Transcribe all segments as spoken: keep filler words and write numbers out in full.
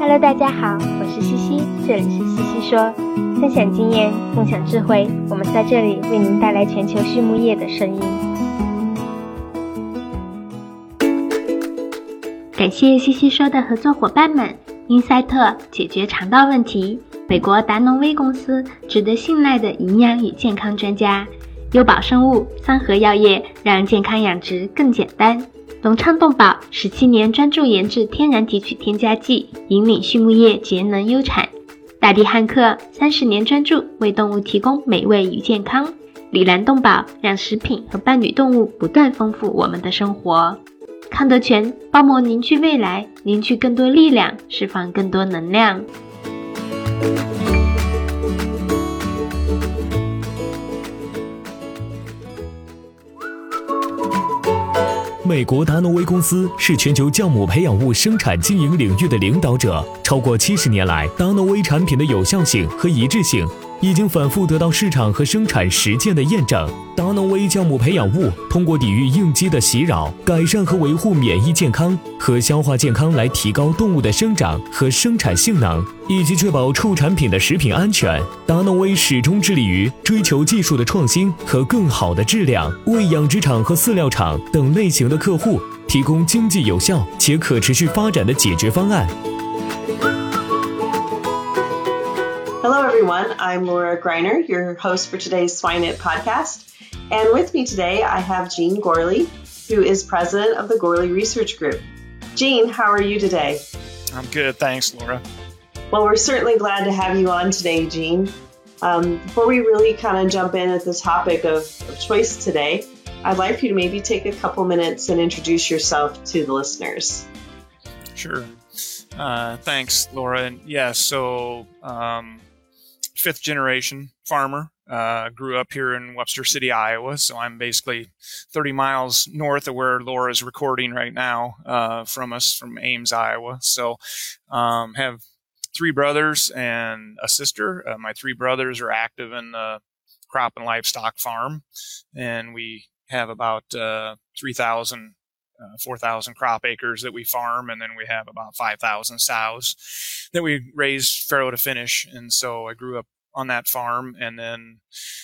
Hello， 大家好，我是西西，这里是西西说，分享经验，共享智慧，我们在这里为您带来全球畜牧业的声音。感谢西西说的合作伙伴们，英赛特解决肠道问题，美国达农威公司值得信赖的营养与健康专家，优宝生物、三和药业让健康养殖更简单。隆昌动宝十七年专注研制天然提取添加剂，引领畜牧业节能优产。大地汉克三十年专注为动物提供美味与健康。里兰动宝让食品和伴侣动物不断丰富我们的生活。康德全包膜凝聚未来，凝聚更多力量，释放更多能量。 美国达诺威公司是全球酵母培养物生产经营领域的领导者。超过七十年来，达诺威产品的有效性和一致性已经反复得到市场和生产实践的验证。达诺威酵母培养物通过抵御应激的袭扰，改善和维护免疫健康和消化健康，来提高动物的生长和生产性能，以及确保畜产品的食品安全。达诺威始终致力于追求技术的创新和更好的质量，为养殖场和饲料厂等类型的客户提供经济有效且可持续发展的解决方案。 Hello, everyone. I'm Laura Greiner, your host for today's SwineNet podcast. And with me today, I have Jean Gourley, who is president of the Gourley Research Group. Jean, how are you today? I'm good. Thanks, Laura. Well, we're certainly glad to have you on today, Jean. Um, before we really kind of jump in at the topic of, of choice today, I'd like you to maybe take a couple minutes and introduce yourself to the listeners. Sure. Uh, thanks, Laura. And yeah, so um, fifth generation farmer. Uh, grew up here in Webster City, Iowa, so I'm basically thirty miles north of where Laura's recording right now uh, from us, from Ames, Iowa. So um, have three brothers and a sister. Uh, my three brothers are active in the crop and livestock farm, and we have about uh, three thousand, uh, four thousand crop acres that we farm, and then we have about five thousand sows that we raise farrow to finish. And so I grew up on that farm, and then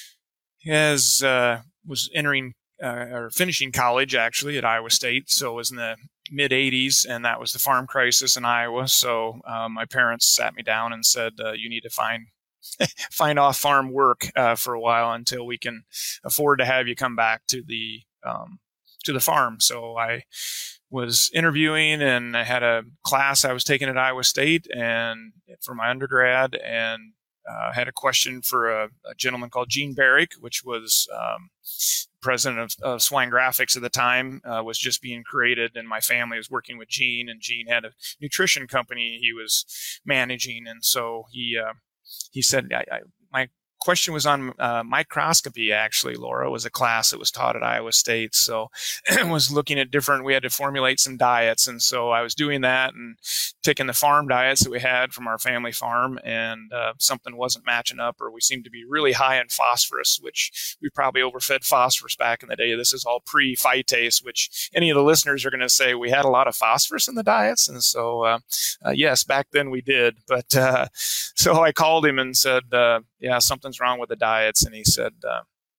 as uh, was entering uh, or finishing college actually at Iowa State, so it was in the mid eighties, and that was the farm crisis in Iowa. So uh, my parents sat me down and said, uh, you need to find find off farm work uh, for a while until we can afford to have you come back to the um, to the farm. So I was interviewing, and I had a class I was taking at Iowa State and for my undergrad, and Uh, had a question for a, a gentleman called Gene Barrick, which was um, president of, of Swine Graphics at the time, uh, was just being created, and my family was working with Gene, and Gene had a nutrition company he was managing, and so he uh, he said, I, I, my question was on uh, microscopy, actually, Laura. It was a class that was taught at Iowa State, so I was looking at different, we had to formulate some diets, and so I was doing that and taking the farm diets that we had from our family farm, and uh, something wasn't matching up, or we seemed to be really high in phosphorus, which we probably overfed phosphorus back in the day. This is all pre-phytase, which any of the listeners are going to say we had a lot of phosphorus in the diets, and so uh, uh, yes, back then we did, but uh, so I called him and said, uh, yeah, something's wrong with the diets. And he said, uh,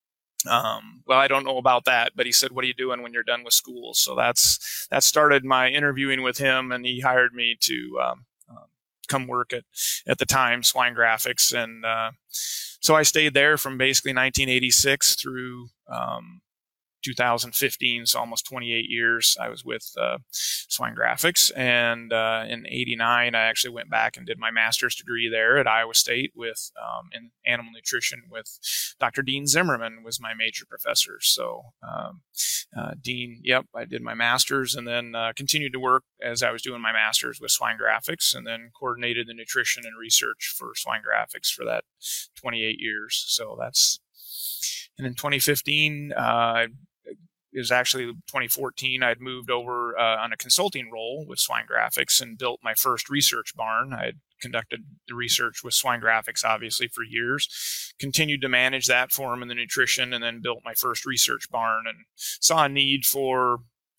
um, well, I don't know about that, but he said, what are you doing when you're done with school? So that's, that started my interviewing with him, and he hired me to, um, uh, come work at, at the time, Swine Graphics. And, uh, so I stayed there from basically nineteen eighty-six through, um, two thousand fifteen, so almost twenty-eight years I was with uh, Swine Graphics. And uh, in eighty-nine, I actually went back and did my master's degree there at Iowa State with um, in animal nutrition with Doctor Dean Zimmerman was my major professor. So um, uh, Dean, yep, I did my master's, and then uh, continued to work as I was doing my master's with Swine Graphics, and then coordinated the nutrition and research for Swine Graphics for that twenty-eight years. So that's, and in twenty fifteen, uh, it was actually twenty fourteen, I'd moved over uh, on a consulting role with Swine Graphics and built my first research barn. I had conducted the research with Swine Graphics, obviously, for years, continued to manage that for them in the nutrition, and then built my first research barn and saw a need for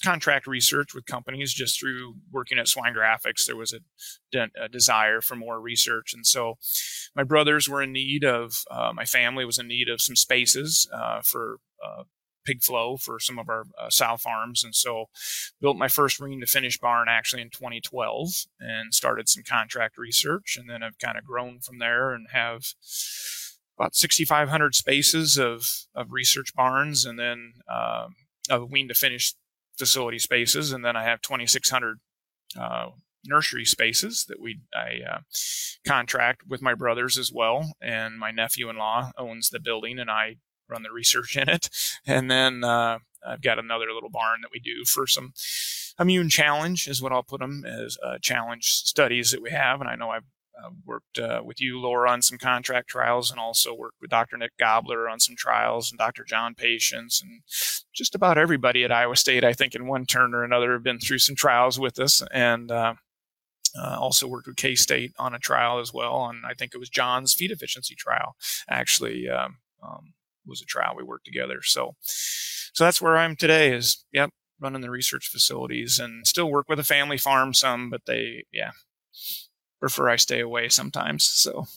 contract research with companies just through working at Swine Graphics. There was a, a desire for more research. And so my brothers were in need of, uh, my family was in need of some spaces uh, for uh, pig flow for some of our uh, sow farms. And so built my first wean to finish barn actually in twenty twelve and started some contract research. And then I've kind of grown from there and have about sixty-five hundred spaces of, of research barns and then uh, of wean to finish facility spaces. And then I have twenty-six hundred uh, nursery spaces that we I uh, contract with my brothers as well. And my nephew-in-law owns the building and I run the research in it. And then uh, I've got another little barn that we do for some immune challenge is what I'll put them as uh, challenge studies that we have. And I know I've uh, worked uh, with you, Laura, on some contract trials and also worked with Doctor Nick Gobler on some trials and Doctor John Patience and just about everybody at Iowa State, I think in one turn or another have been through some trials with us. And uh, uh, also worked with K-State on a trial as well. And I think it was John's feed efficiency trial actually um, um, was a trial we worked together. So, so that's where I'm today is, yep, running the research facilities and still work with a family farm some, but they, yeah, prefer I stay away sometimes. So,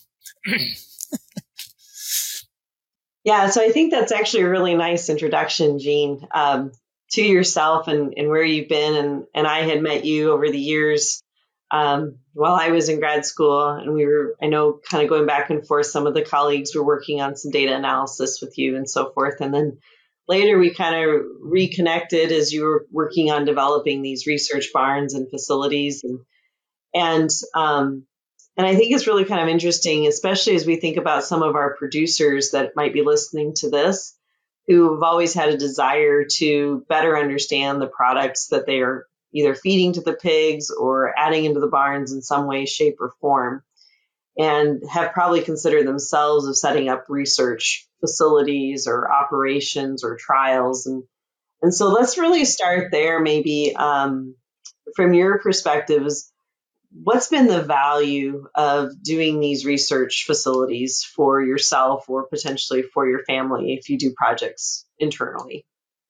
yeah, so I think that's actually a really nice introduction, Jean, um, to yourself and, and where you've been. And, and I had met you over the years Um, while I was in grad school, and we were, I know, kind of going back and forth, some of the colleagues were working on some data analysis with you and so forth. And then later we kind of reconnected as you were working on developing these research barns and facilities. And, and, um, and I think it's really kind of interesting, especially as we think about some of our producers that might be listening to this, who have always had a desire to better understand the products that they are either feeding to the pigs or adding into the barns in some way, shape, or form, and have probably considered themselves of setting up research facilities or operations or trials. And, and so let's really start there, maybe um, from your perspectives, what's been the value of doing these research facilities for yourself or potentially for your family if you do projects internally?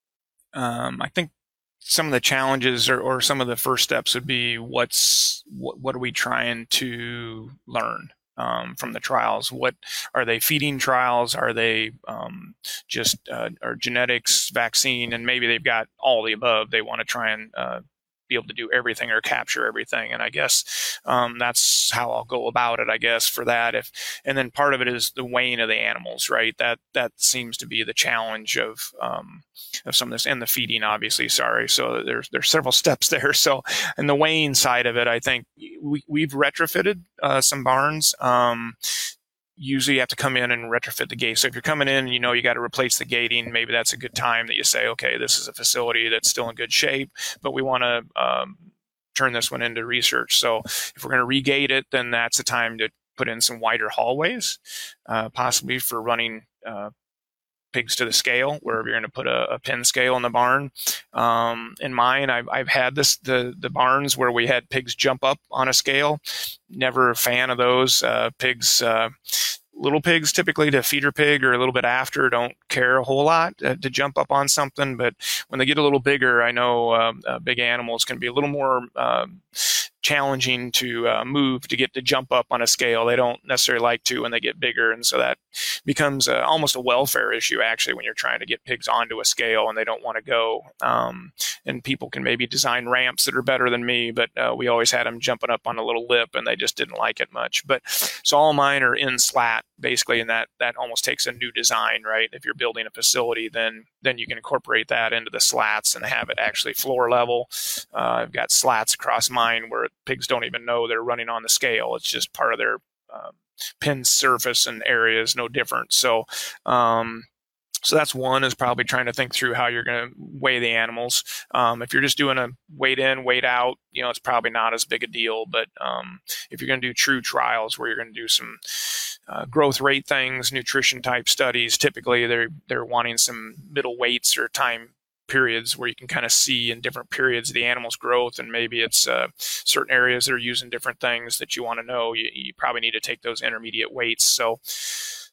Um, I think some of the challenges or, or some of the first steps would be what's what, what are we trying to learn um, from the trials? What are they feeding trials? Are they um, just uh, or genetics, vaccine, and maybe they've got all the above. They want to try and uh, be able to do everything or capture everything. And I guess um, that's how I'll go about it, I guess, for that. If and then part of it is the weighing of the animals, right? That that seems to be the challenge of um, of some of this, and the feeding, obviously. Sorry, so there's there's several steps there. So, and the weighing side of it, I think we we've retrofitted uh, some barns. Um, Usually you have to come in and retrofit the gate. So if you're coming in and you know you got to replace the gating, maybe that's a good time that you say, okay, this is a facility that's still in good shape, but we want to um, turn this one into research. So if we're going to regate it, then that's the time to put in some wider hallways, uh, possibly for running uh, pigs to the scale, wherever you're going to put a, a pin scale in the barn. Um, in mine, I've, I've had this the the barns where we had pigs jump up on a scale. Never a fan of those. Uh, pigs, uh, little pigs typically to feeder pig or a little bit after don't care a whole lot uh, to jump up on something. But when they get a little bigger, I know uh, uh, big animals can be a little more uh, challenging to uh, move to get to jump up on a scale. They don't necessarily like to when they get bigger. And so that becomes uh, almost a welfare issue, actually, when you're trying to get pigs onto a scale and they don't want to go. Um, and people can maybe design ramps that are better than me, but uh, we always had them jumping up on a little lip and they just didn't like it much. But so all mine are in slat, basically, and that, that almost takes a new design, right? If you're building a facility, then then you can incorporate that into the slats and have it actually floor level. Uh, I've got slats across mine where pigs don't even know they're running on the scale. It's just part of their um, pin surface and area is no different. So, um, so that's one, is probably trying to think through how you're going to weigh the animals. Um, if you're just doing a weight in, weight out, you know, it's probably not as big a deal. But um, if you're going to do true trials where you're going to do some uh, growth rate things, nutrition type studies, typically they're they're wanting some middle weights or time periods where you can kind of see in different periods of the animal's growth, and maybe it's uh, certain areas that are using different things that you want to know. You, you probably need to take those intermediate weights. So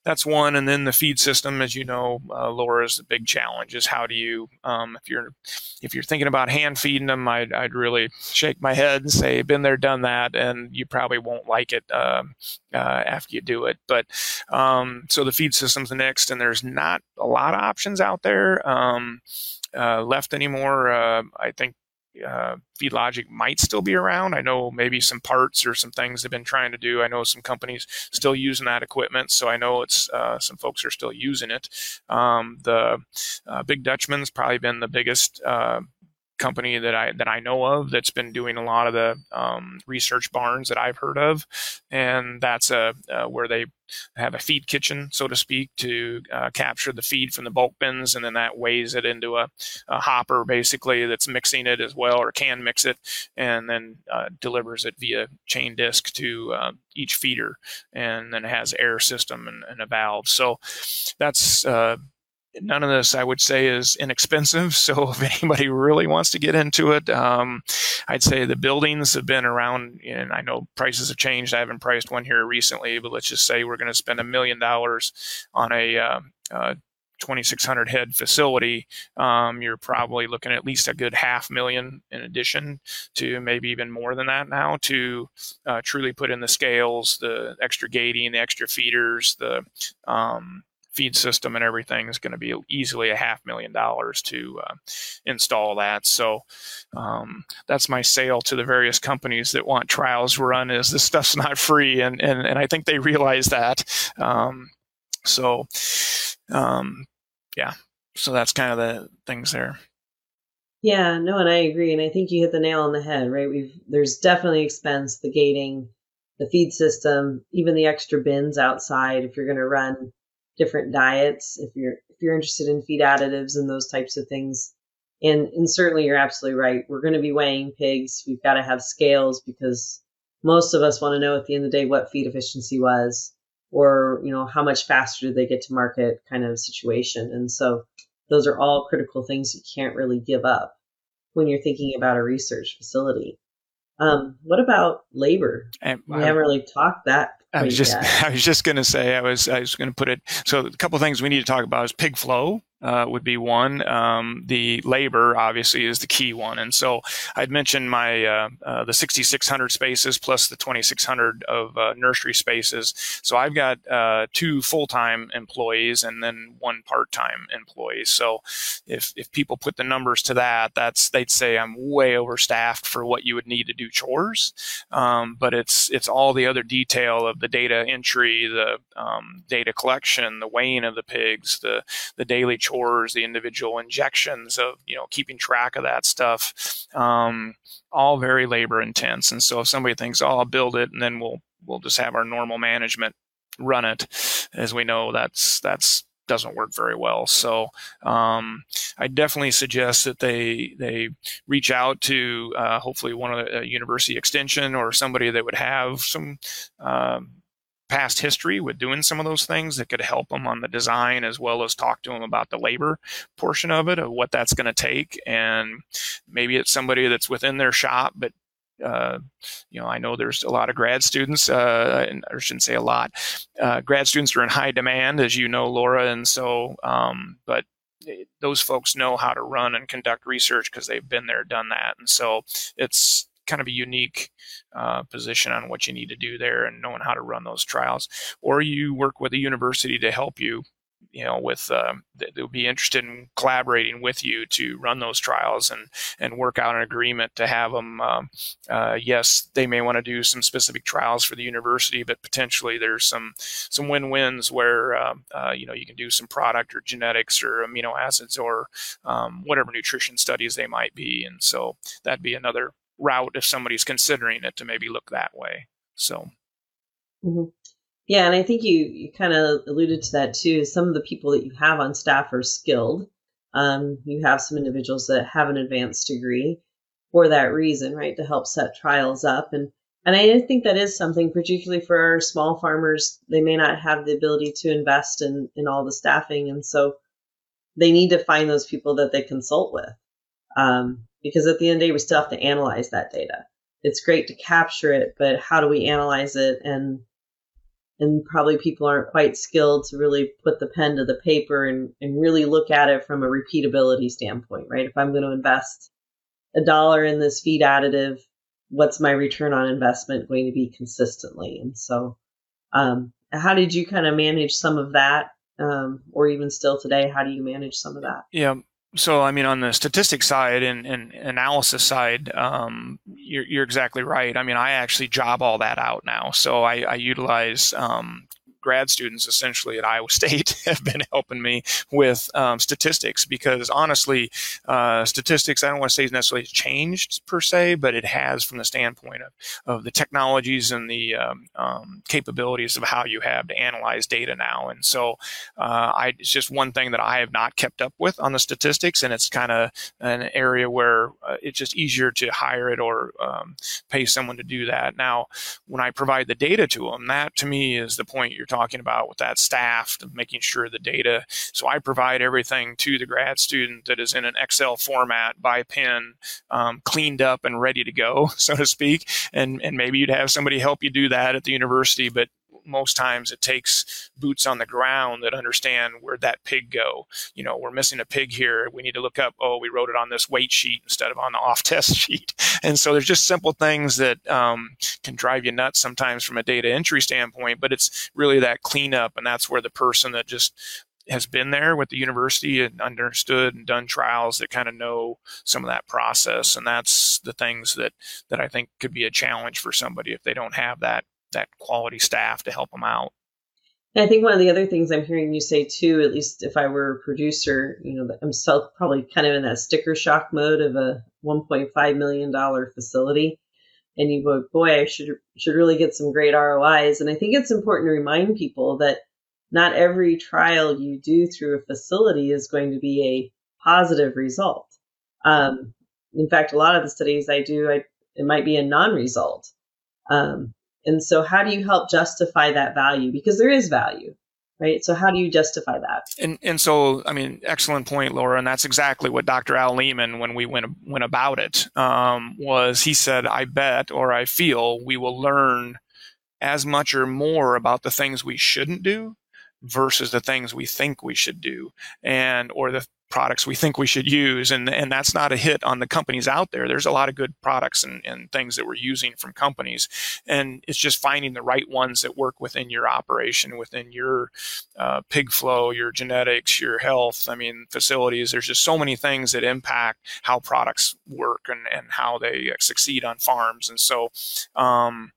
that's one. And then the feed system, as you know, uh, Laura, is the big challenge. Is how do you, um, if you're if you're thinking about hand feeding them, I'd, I'd really shake my head and say, been there, done that, and you probably won't like it uh, uh, after you do it. But um, so the feed system's the next, and there's not a lot of options out there um, uh, left anymore. Uh, I think. Uh, FeedLogic might still be around. I know maybe some parts or some things they've been trying to do. I know some companies still using that equipment, so I know it's uh, some folks are still using it. Um, the uh, Big Dutchman's probably been the biggest uh, company that I that I know of that's been doing a lot of the um, research barns that I've heard of, and that's a uh, where they have a feed kitchen, so to speak, to uh, capture the feed from the bulk bins, and then that weighs it into a, a hopper, basically, that's mixing it as well, or can mix it, and then uh, delivers it via chain disc to uh, each feeder, and then it has air system and, and a valve. So that's uh, none of this, I would say, is inexpensive. So if anybody really wants to get into it, um, I'd say the buildings have been around, and I know prices have changed. I haven't priced one here recently, but let's just say we're going to spend a million dollars on a uh, uh, twenty-six hundred head facility. Um, you're probably looking at least a good half million in addition to maybe even more than that now to uh, truly put in the scales, the extra gating, the extra feeders, the um, feed system and everything is going to be easily a half million dollars to uh, install that. So um, that's my sale to the various companies that want trials run, is this stuff's not free. And, and, and I think they realize that. Um, so um, yeah, so that's kind of the things there. Yeah, no, and I agree. And I think you hit the nail on the head, right? We've, there's definitely expense, the gating, the feed system, even the extra bins outside if you're going to run different diets, if you're if you're interested in feed additives and those types of things. And and certainly you're absolutely right. We're going to be weighing pigs. We've got to have scales because most of us want to know at the end of the day what feed efficiency was, or, you know, how much faster did they get to market kind of situation. And so those are all critical things you can't really give up when you're thinking about a research facility. Um, what about labor? And, we haven't really talked that. I was just, yet. I was just going to say, I was, I was going to put it. So a couple of things we need to talk about is pig flow. Uh, would be one. Um, the labor obviously is the key one, and so I'd mentioned my uh, uh, the sixty-six hundred spaces plus the twenty-six hundred of uh, nursery spaces. So I've got uh, two full-time employees and then one part-time employee. So if if people put the numbers to that, that's they'd say I'm way overstaffed for what you would need to do chores. Um, but it's it's all the other detail of the data entry, the um, data collection, the weighing of the pigs, the the daily chores, the individual injections of, you know, keeping track of that stuff, um, all very labor intense. And so if somebody thinks, oh, I'll build it and then we'll, we'll just have our normal management run it, as we know, that's, that's, doesn't work very well. So um, I definitely suggest that they they reach out to uh, hopefully one of the uh, university extension or somebody that would have some um, past history with doing some of those things that could help them on the design, as well as talk to them about the labor portion of it, of what that's going to take. And maybe it's somebody that's within their shop, but Uh, you know, I know there's a lot of grad students, uh, and I shouldn't say a lot, uh, grad students are in high demand, as you know, Laura. And so, um, but those folks know how to run and conduct research because they've been there, done that. And so it's kind of a unique uh, position on what you need to do there and knowing how to run those trials. Or you work with a university to help you, you know, with uh, they'll be interested in collaborating with you to run those trials and and work out an agreement to have them. Um, uh, yes, they may want to do some specific trials for the university, but potentially there's some some win-wins where uh, uh, you know, you can do some product or genetics or amino acids or um, whatever nutrition studies they might be, and so that'd be another route if somebody's considering it to maybe look that way. So. Mm-hmm. Yeah, and I think you, you kind of alluded to that too. Some of the people that you have on staff are skilled. Um, you have some individuals that have an advanced degree for that reason, right, to help set trials up. And and I think that is something, particularly for our small farmers, they may not have the ability to invest in, in all the staffing. And so they need to find those people that they consult with. Um, because at the end of the day, we still have to analyze that data. It's great to capture it, but how do we analyze it and and probably people aren't quite skilled to really put the pen to the paper and, and really look at it from a repeatability standpoint, right? If I'm going to invest a dollar in this feed additive, what's my return on investment going to be consistently? And so, um, how did you kind of manage some of that? Um, or even still today, how do you manage some of that? Yeah. So, I mean, on the statistics side and, and analysis side, um, you're, you're exactly right. I mean, I actually job all that out now. So I, I utilize um, grad students essentially at Iowa State have been helping me with um, statistics because honestly, uh, statistics, I don't want to say necessarily changed per se, but it has from the standpoint of, of the technologies and the um, um, capabilities of how you have to analyze data now. And so uh, I, it's just one thing that I have not kept up with on the statistics, and it's kind of an area where uh, it's just easier to hire it or um, pay someone to do that. Now, when I provide the data to them, that to me is the point you're talking talking about with that staff, of making sure the data. So I provide everything to the grad student that is in an Excel format by pen, um, cleaned up and ready to go, so to speak. And, and maybe you'd have somebody help you do that at the university, but most times it takes boots on the ground that understand where'd that pig go. You know, we're missing a pig here. We need to look up, oh, we wrote it on this weight sheet instead of on the off test sheet. And so there's just simple things that um, can drive you nuts sometimes from a data entry standpoint, but it's really that cleanup. And that's where the person that just has been there with the university and understood and done trials that kind of know some of that process. And that's the things that, that I think could be a challenge for somebody if they don't have that that quality staff to help them out. And I think one of the other things I'm hearing you say too, at least if I were a producer, you know, I'm still probably kind of in that sticker shock mode of a one point five million dollars facility. And you go, boy, I should, should really get some great R O Is. And I think it's important to remind people that not every trial you do through a facility is going to be a positive result. Um, in fact, a lot of the studies I do, I, it might be a non-result. Um, And so how do you help justify that value? Because there is value, right? So how do you justify that? And and so, I mean, excellent point, Laura. And that's exactly what Doctor Al Lehman, when we went, went about it, um, was he said, I bet or I feel we will learn as much or more about the things we shouldn't do versus the things we think we should do, and or the products we think we should use. And and that's not a hit on the companies out there. There's a lot of good products and, and things that we're using from companies. And it's just finding the right ones that work within your operation, within your uh, pig flow, your genetics, your health. I mean, facilities. There's just so many things that impact how products work and, and how they succeed on farms. And so, um,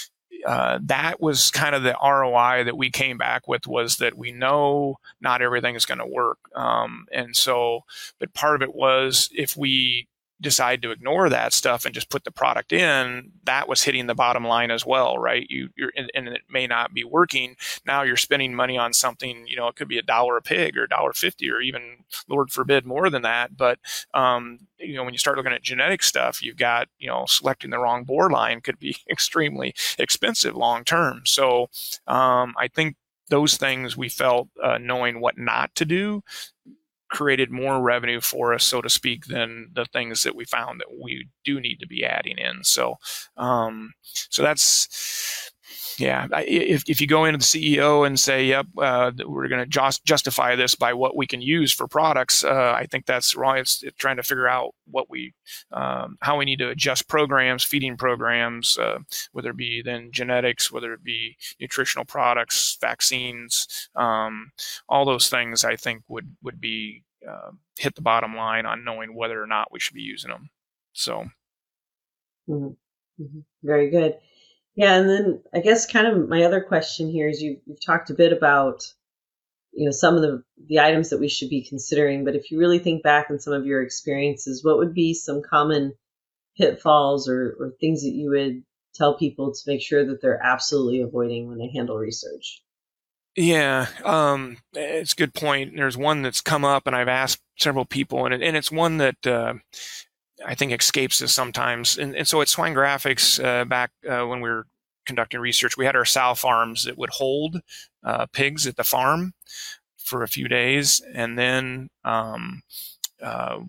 Uh, that was kind of the R O I that we came back with, was that we know not everything is going to work. Um, and so, but part of it was if we decide to ignore that stuff and just put the product in, that was hitting the bottom line as well, right? You, you're, and, and it may not be working. Now you're spending money on something, you know, it could be a dollar a pig or a dollar fifty, or even, Lord forbid, more than that. But, um, you know, when you start looking at genetic stuff, you've got, you know, selecting the wrong board line could be extremely expensive long term. So, um, I think those things we felt, uh, knowing what not to do, created more revenue for us, so to speak, than the things that we found that we do need to be adding in. So, um, so that's, yeah, if, if you go into the C E O and say, yep, uh, we're going to just justify this by what we can use for products, uh, I think that's wrong. It's, it's trying to figure out what we, um, how we need to adjust programs, feeding programs, uh, whether it be then genetics, whether it be nutritional products, vaccines, um, all those things I think would, would be, uh, hit the bottom line on knowing whether or not we should be using them. So. Mm-hmm. Mm-hmm. Very good. Yeah. And then I guess kind of my other question here is you, you've talked a bit about, you know, some of the, the items that we should be considering, but if you really think back on some of your experiences, what would be some common pitfalls or, or things that you would tell people to make sure that they're absolutely avoiding when they handle research? Yeah, um, it's a good point. There's one that's come up and I've asked several people, and, it, and it's one that, uh, I think escapes us sometimes. And, and so at Swine Graphics, uh, back uh, when we were conducting research, we had our sow farms that would hold uh, pigs at the farm for a few days. And then um, uh,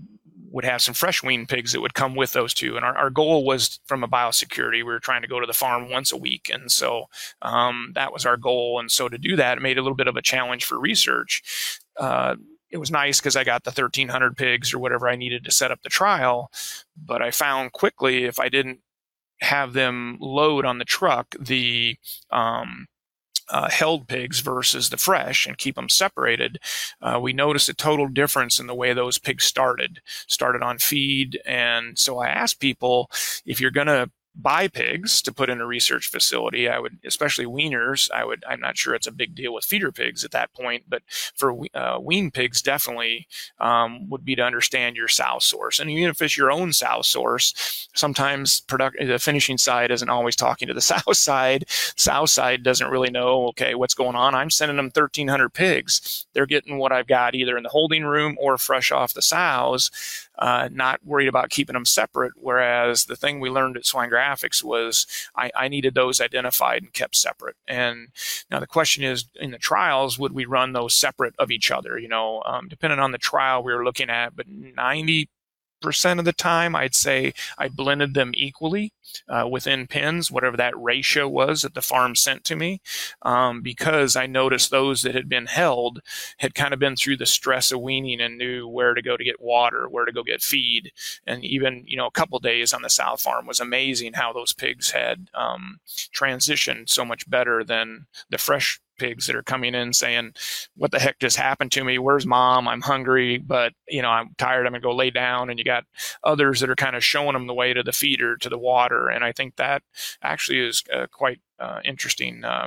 would have some fresh weaned pigs that would come with those two. And our, our goal was from a biosecurity, we were trying to go to the farm once a week. And so um, that was our goal. And so to do that, it made it a little bit of a challenge for research. Uh, it was nice because I got the thirteen hundred pigs or whatever I needed to set up the trial. But I found quickly if I didn't have them load on the truck, the um, Uh, held pigs versus the fresh and keep them separated, uh, we noticed a total difference in the way those pigs started, started on feed. And so I asked people, if you're going to buy pigs to put in a research facility, I would, especially weaners, I would, I'm not sure it's a big deal with feeder pigs at that point, but for uh, wean pigs, definitely um, would be to understand your sow source. And even if it's your own sow source, sometimes product, the finishing side isn't always talking to the sow side. Sow side doesn't really know, okay, what's going on. I'm sending them thirteen hundred pigs. They're getting what I've got either in the holding room or fresh off the sows. Uh, not worried about keeping them separate. Whereas the thing we learned at Swine Graphics was I, I needed those identified and kept separate. And now the question is, in the trials, would we run those separate of each other? You know, um, depending on the trial we were looking at, but ninety percent of the time, I'd say I blended them equally uh, within pens, whatever that ratio was that the farm sent to me, um, because I noticed those that had been held had kind of been through the stress of weaning and knew where to go to get water, where to go get feed. And even, you know, a couple days on the sow farm was amazing how those pigs had um, transitioned so much better than the fresh pigs that are coming in saying, what the heck just happened to me? Where's mom? I'm hungry, but you know, I'm tired. I'm gonna go lay down. And you got others that are kind of showing them the way to the feeder, to the water. And I think that actually is uh, quite uh, interesting uh,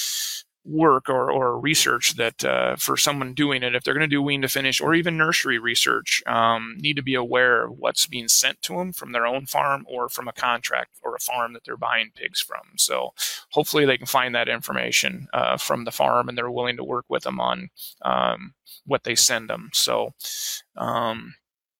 work or, or research that uh, for someone doing it, if they're going to do wean to finish or even nursery research, um, need to be aware of what's being sent to them from their own farm or from a contract or a farm that they're buying pigs from. So hopefully they can find that information uh, from the farm and they're willing to work with them on um, what they send them. So um,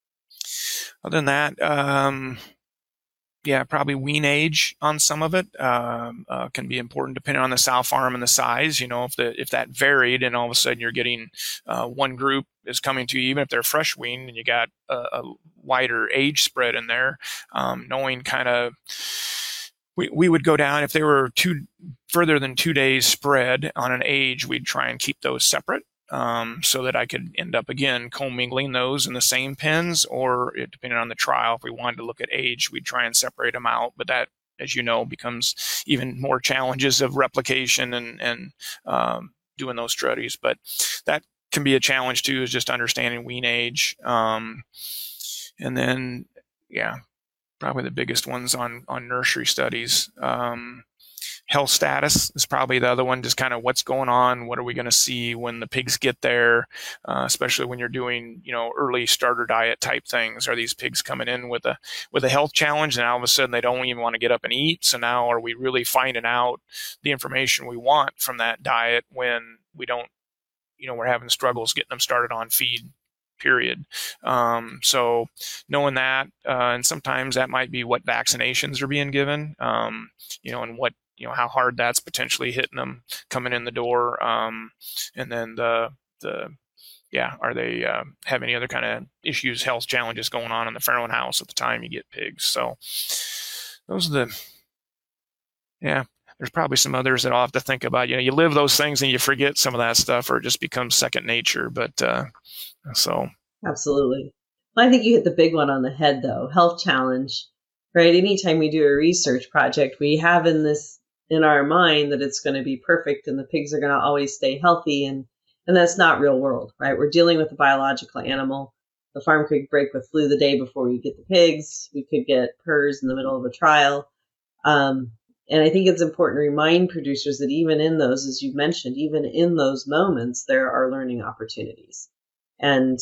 other than that, um, yeah, probably wean age on some of it um, uh, can be important depending on the sow farm and the size. You know, if the if that varied and all of a sudden you're getting uh, one group is coming to you, even if they're fresh weaned, and you got a, a wider age spread in there, um, knowing kind of we we would go down if they were two further than two days spread on an age, we'd try and keep those separate. Um, so that I could end up, again, commingling those in the same pens, or it, depending on the trial, if we wanted to look at age, we'd try and separate them out. But that, as you know, becomes even more challenges of replication and, and um, doing those studies. But that can be a challenge, too, is just understanding wean age. Um, and then, yeah, probably the biggest ones on, on nursery studies. Um, Health status is probably the other one, just kind of what's going on, what are we going to see when the pigs get there, uh, especially when you're doing, you know, early starter diet type things. Are these pigs coming in with a with a health challenge and all of a sudden they don't even want to get up and eat? So now are we really finding out the information we want from that diet when we don't, you know, we're having struggles getting them started on feed, period. Um, so knowing that, uh, and sometimes that might be what vaccinations are being given, um, you know, and what, you know, how hard that's potentially hitting them coming in the door. Um, and then the, the, yeah, are they uh, have any other kind of issues, health challenges going on in the farrowing house at the time you get pigs? So those are the, yeah, there's probably some others that I'll have to think about. You know, you live those things and you forget some of that stuff, or it just becomes second nature. But uh, so. Absolutely. Well, I think you hit the big one on the head, though. Health challenge, right? Anytime we do a research project, we have in this, in our mind that it's going to be perfect and the pigs are going to always stay healthy. And, and that's not real world, right? We're dealing with a biological animal. The farm could break with flu the day before we get the pigs. We could get P R R S in the middle of a trial. Um, and I think it's important to remind producers that even in those, as you mentioned, even in those moments, there are learning opportunities. And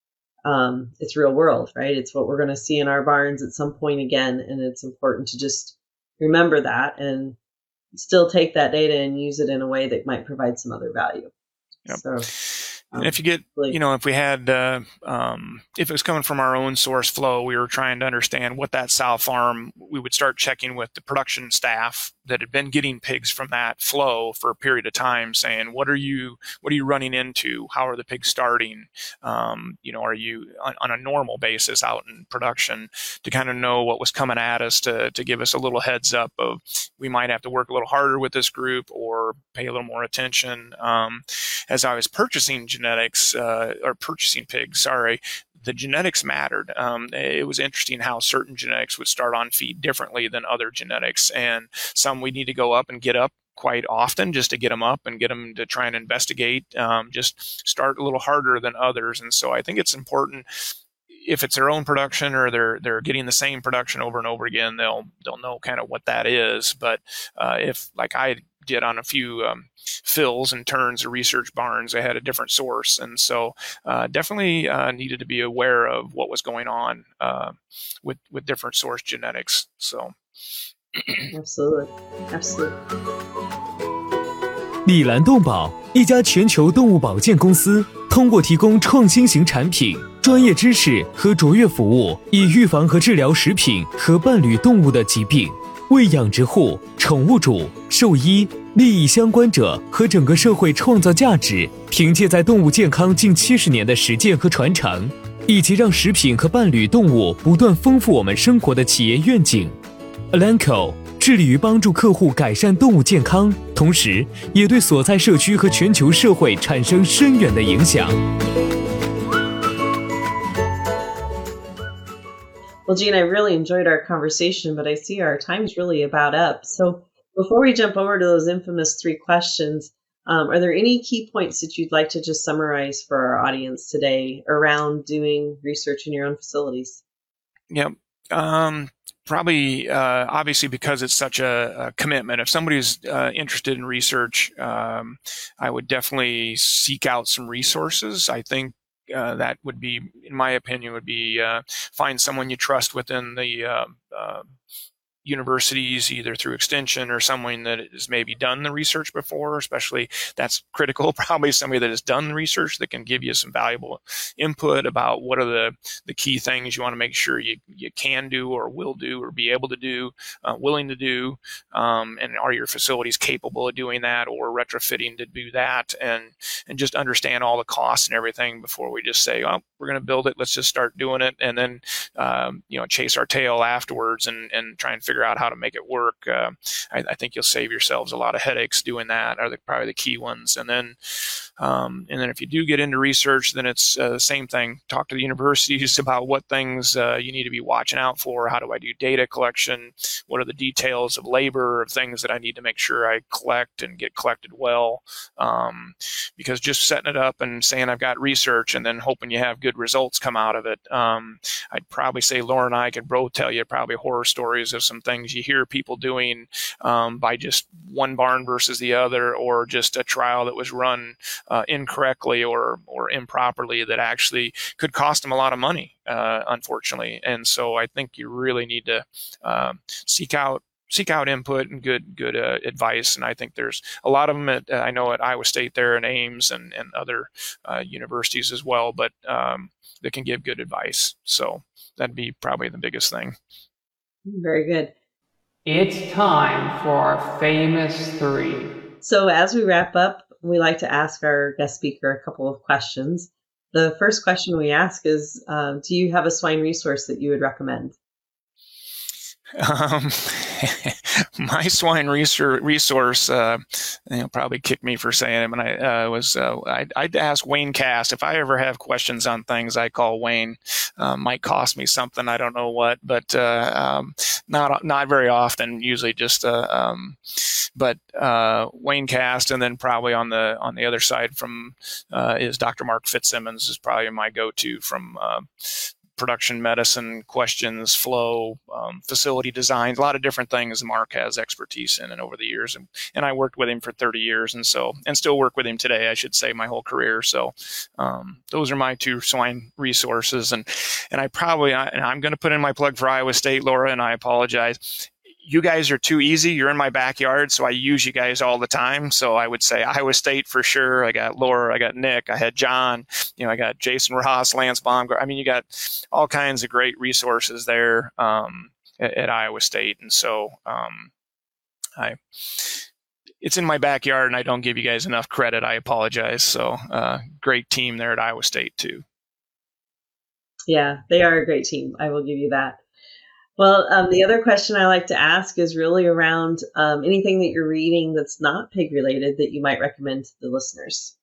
um, it's real world, right? It's what we're going to see in our barns at some point again. And it's important to just remember that and still take that data and use it in a way that might provide some other value. Yep. So, um, and if you get, you know, if we had, uh, um, if it was coming from our own source flow, we were trying to understand what that sow farm, we would start checking with the production staff that had been getting pigs from that flow for a period of time, saying, what are you, what are you running into? How are the pigs starting? Um, you know, are you on, on a normal basis out in production, to kind of know what was coming at us, to, to give us a little heads up of, we might have to work a little harder with this group or pay a little more attention. Um, as I was purchasing genetics, uh, or purchasing pigs, sorry, the genetics mattered. Um, it was interesting how certain genetics would start on feed differently than other genetics. And some we need to go up and get up quite often just to get them up and get them to try and investigate, um, just start a little harder than others. And so I think it's important, if it's their own production or they're they're getting the same production over and over again, they'll they'll know kind of what that is. But uh, if, like I did on a few um, fills and turns or research barns, I had a different source, and so uh, definitely uh, needed to be aware of what was going on uh, with with different source genetics. So, absolutely, absolutely. 李兰动保，一家全球动物保健公司，通过提供创新型产品、专业知识和卓越服务，以预防和治疗食品和伴侣动物的疾病，为养殖户、宠物主、兽医、利益相关者和整个社会创造价值。凭借在动物健康近七十年的实践和传承，以及让食品和伴侣动物不断丰富我们生活的企业愿景 ，Elanco 致力于帮助客户改善动物健康，同时也对所在社区和全球社会产生深远的影响。 Well, Jean, I really enjoyed our conversation, but I see our time's really about up. So before we jump over to those infamous three questions, um, are there any key points that you'd like to just summarize for our audience today around doing research in your own facilities? Yep. Um, probably, uh, obviously, because it's such a, a commitment. If somebody's uh, interested in research, um, I would definitely seek out some resources. I think Uh, that would be, in my opinion, would be uh, find someone you trust within the uh, uh, universities, either through extension or someone that has maybe done the research before, especially that's critical, probably somebody that has done the research that can give you some valuable input about what are the, the key things you want to make sure you, you can do or will do or be able to do, uh, willing to do, um, and are your facilities capable of doing that or retrofitting to do that, and, and just understand all the costs and everything before we just say, oh, we're going to build it, let's just start doing it, and then, um, you know, chase our tail afterwards and, and try and figure out how to make it work. Uh, I, I think you'll save yourselves a lot of headaches doing that, are the, probably the key ones. And then, um, and then if you do get into research, then it's uh, the same thing. Talk to the universities about what things uh, you need to be watching out for. How do I do data collection? What are the details of labor, of things that I need to make sure I collect and get collected well? Um, because just setting it up and saying I've got research and then hoping you have good results come out of it. Um, I'd probably say Laura and I could both tell you probably horror stories of some things you hear people doing um, by just one barn versus the other, or just a trial that was run uh, incorrectly or or improperly that actually could cost them a lot of money, uh, unfortunately. And so I think you really need to uh, seek out seek out input and good good uh, advice. And I think there's a lot of them at, uh, I know at Iowa State there and Ames and, and other uh, universities as well, but um, that can give good advice. So that'd be probably the biggest thing. Very good. It's time for our famous three. So as we wrap up, we like to ask our guest speaker a couple of questions. The first question we ask is, uh, do you have a swine resource that you would recommend? Um, my swine resource, uh, they'll probably kick me for saying it, but I uh, was, uh, I'd, I'd ask Wayne Cast. If I ever have questions on things, I call Wayne. Uh, might cost me something, I don't know what, but uh, um, not not very often. Usually just, uh, um, but uh, Wayne Cast, and then probably on the on the other side from uh, is Doctor Mark Fitzsimmons is probably my go-to from. Uh, production medicine questions, flow, um, facility designs, a lot of different things Mark has expertise in and over the years. And, and I worked with him for thirty years and so, and still work with him today, I should say, my whole career. So um, those are my two swine resources. And, and I probably, I, and I'm going to put in my plug for Iowa State, Laura, and I apologize. You guys are too easy. You're in my backyard, so I use you guys all the time. So I would say Iowa State for sure. I got Laura, I got Nick, I had John, you know, I got Jason Ross, Lance Baumgart. I mean, you got all kinds of great resources there um, at, at Iowa State. And so, um, I, it's in my backyard, and I don't give you guys enough credit. I apologize. So, uh, great team there at Iowa State too. Yeah, they are a great team. I will give you that. Well, um, the other question I like to ask is really around um, anything that you're reading that's not pig related that you might recommend to the listeners.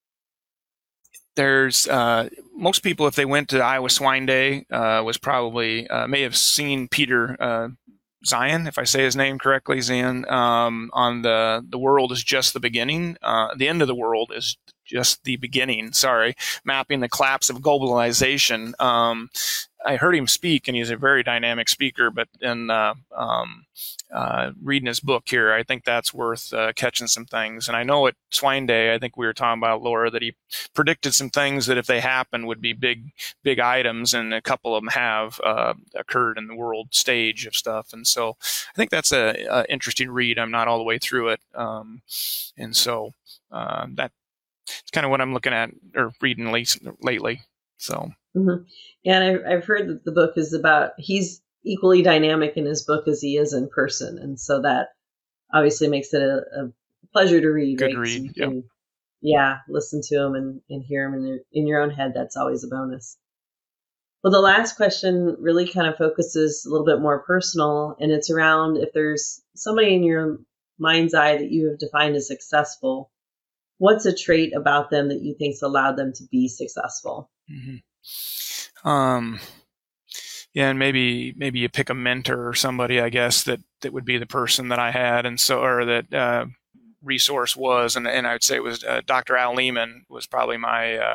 There's uh, most people, if they went to Iowa Swine Day, uh, was probably uh, may have seen Peter uh, Zeihan, if I say his name correctly, Zeihan, um, on the the world is just the beginning. Uh, the end of the world is just the beginning. Sorry, mapping the collapse of globalization. Um, I heard him speak, and he's a very dynamic speaker. But in uh, um, uh, reading his book here, I think that's worth uh, catching some things. And I know at Swine Day, I think we were talking about, Laura, that he predicted some things that if they happened would be big, big items, and a couple of them have uh, occurred in the world stage of stuff. And so I think that's a, a interesting read. I'm not all the way through it, um, and so uh, that. It's kind of what I'm looking at or reading late, lately. So, mm-hmm. Yeah, and I've, I've heard that the book is about, he's equally dynamic in his book as he is in person. And so that obviously makes it a, a pleasure to read. Good right? read. So you yep. can, yeah, listen to him and, and hear him in, your, in your own head. That's always a bonus. Well, the last question really kind of focuses a little bit more personal, and it's around if there's somebody in your mind's eye that you have defined as successful, what's a trait about them that you think's allowed them to be successful? Mm-hmm. Um, yeah, and maybe maybe you pick a mentor or somebody, I guess, that, that would be the person that I had, and so or that uh, resource was, and and I would say it was uh, Doctor Al Lehman was probably my uh,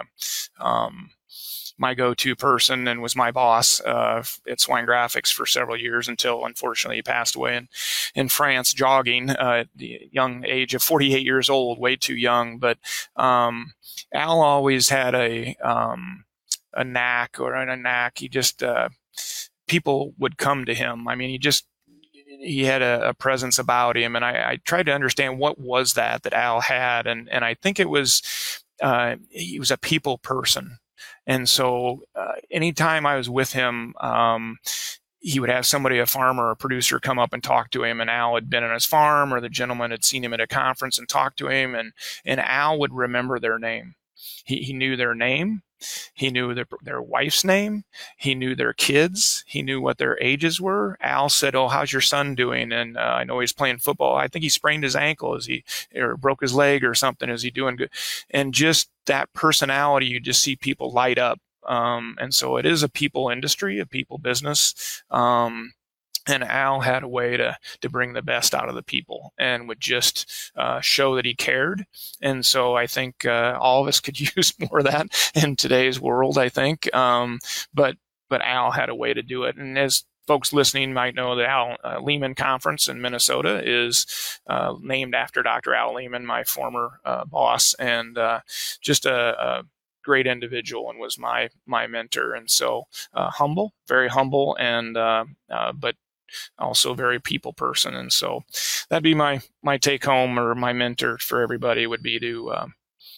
um, my go-to person and was my boss uh, at Swine Graphics for several years until, unfortunately, he passed away in, in France jogging uh, at the young age of forty-eight years old, way too young. But um, Al always had a um, a knack or a knack. He just uh, people would come to him. I mean, he just he had a, a presence about him, and I, I tried to understand what was that that Al had, and and I think it was uh, he was a people person. And so uh, anytime I was with him, um, he would have somebody, a farmer or a producer, come up and talk to him. And Al had been on his farm, or the gentleman had seen him at a conference and talked to him. And, and Al would remember their name. He, he knew their name. He knew their, their wife's name. He knew their kids. He knew what their ages were. Al said, "Oh, how's your son doing?" And uh, I know he's playing football. I think he sprained his ankle. Is he, or broke his leg or something? Is he doing good? And just that personality, you just see people light up. Um, and so it is a people industry, a people business. Um, And Al had a way to, to bring the best out of the people and would just uh, show that he cared. And so I think uh, all of us could use more of that in today's world, I think. Um, but but Al had a way to do it. And as folks listening might know, the Al uh, Lehman Conference in Minnesota is uh, named after Doctor Al Lehman, my former uh, boss, and uh, just a, a great individual, and was my my mentor. And so uh, humble, very humble, and uh, uh, but also very people person. And so that'd be my, my take home, or my mentor for everybody would be to, um,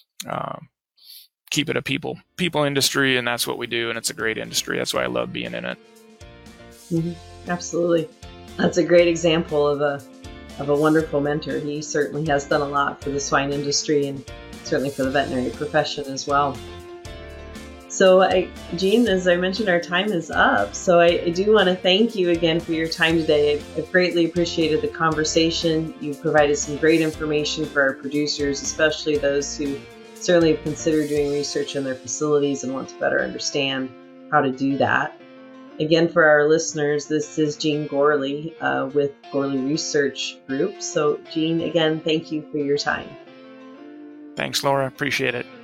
uh, keep it a people, people industry. And that's what we do. And it's a great industry. That's why I love being in it. Mm-hmm. Absolutely. That's a great example of a, of a wonderful mentor. He certainly has done a lot for the swine industry, and certainly for the veterinary profession as well. So, I, Gene, as I mentioned, our time is up. So I, I do want to thank you again for your time today. I've, I've greatly appreciated the conversation. You've provided some great information for our producers, especially those who certainly have considered doing research in their facilities and want to better understand how to do that. Again, for our listeners, this is Jean Gourley uh, with Gourley Research Group. So, Jean, again, thank you for your time. Thanks, Laura. Appreciate it.